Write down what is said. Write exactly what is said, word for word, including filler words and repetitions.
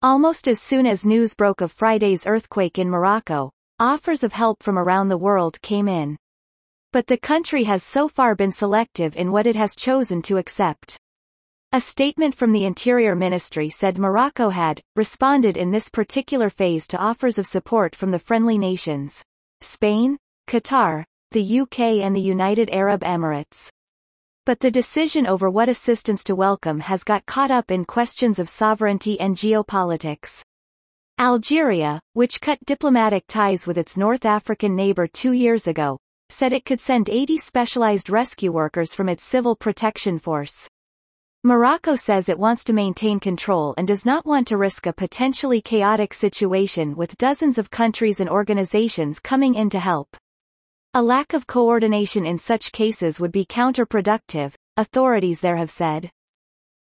Almost as soon as news broke of Friday's earthquake in Morocco, offers of help from around the world came in. But the country has so far been selective in what it has chosen to accept. A statement from the Interior Ministry said Morocco had responded in this particular phase to offers of support from the friendly nations: Spain, Qatar, the U K and the United Arab Emirates. But the decision over what assistance to welcome has got caught up in questions of sovereignty and geopolitics. Algeria, which cut diplomatic ties with its North African neighbor two years ago, said it could send eighty specialized rescue workers from its civil protection force. Morocco says it wants to maintain control and does not want to risk a potentially chaotic situation with dozens of countries and organizations coming in to help. A lack of coordination in such cases would be counterproductive, authorities there have said.